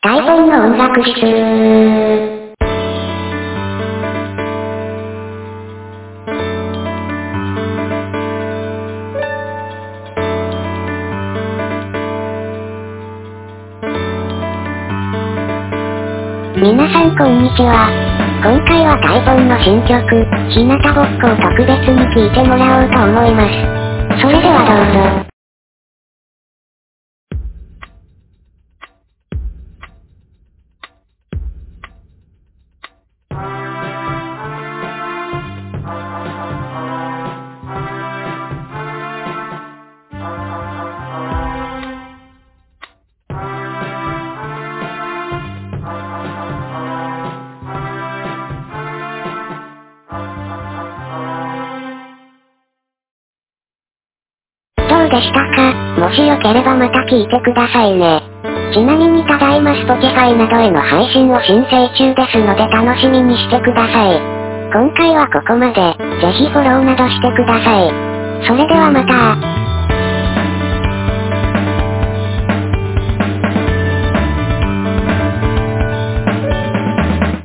タイポンの音楽室。皆さんこんにちは。今回はタイポンの新曲、日向ぼっこを特別に聴いてもらおうと思います。それではどうぞ。どうでしたか？もしよければまた聴いてくださいね。ちなみにただいま Spotify などへの配信を申請中ですので楽しみにしてください。今回はここまで。ぜひフォローなどしてください。それではまた。